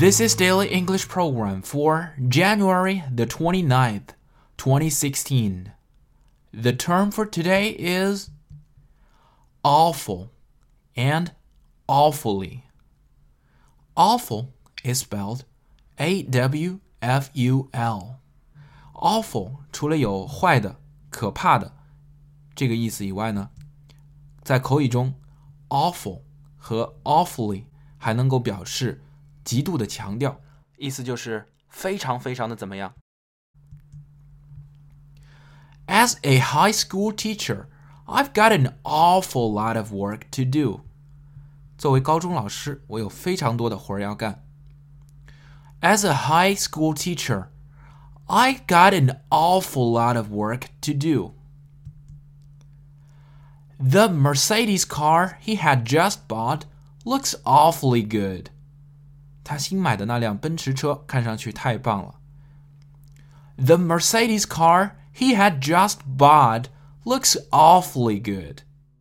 This is Daily English Program for January the 29th, 2016. The term for today is awful and awfully. Awful is spelled A-W-F-U-L. Awful 除了有坏的、可怕的这个意思以外呢，在口语中 awful 和 awfully 还能够表示极度的强调，意思就是非常非常的怎么样。As a high school teacher, I've got an awful lot of work to do. 作为高中老师，我有非常多的活要干。As a high school teacher, I've got an awful lot of work to do. The Mercedes car he had just bought looks awfully good. 他新买的那辆奔驰车看上去太棒了。The Mercedes car he had just bought looks awfully good.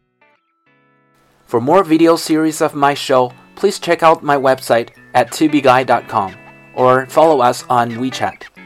For more video series of my show, please check out my website at tubeguy.com or follow us on WeChat.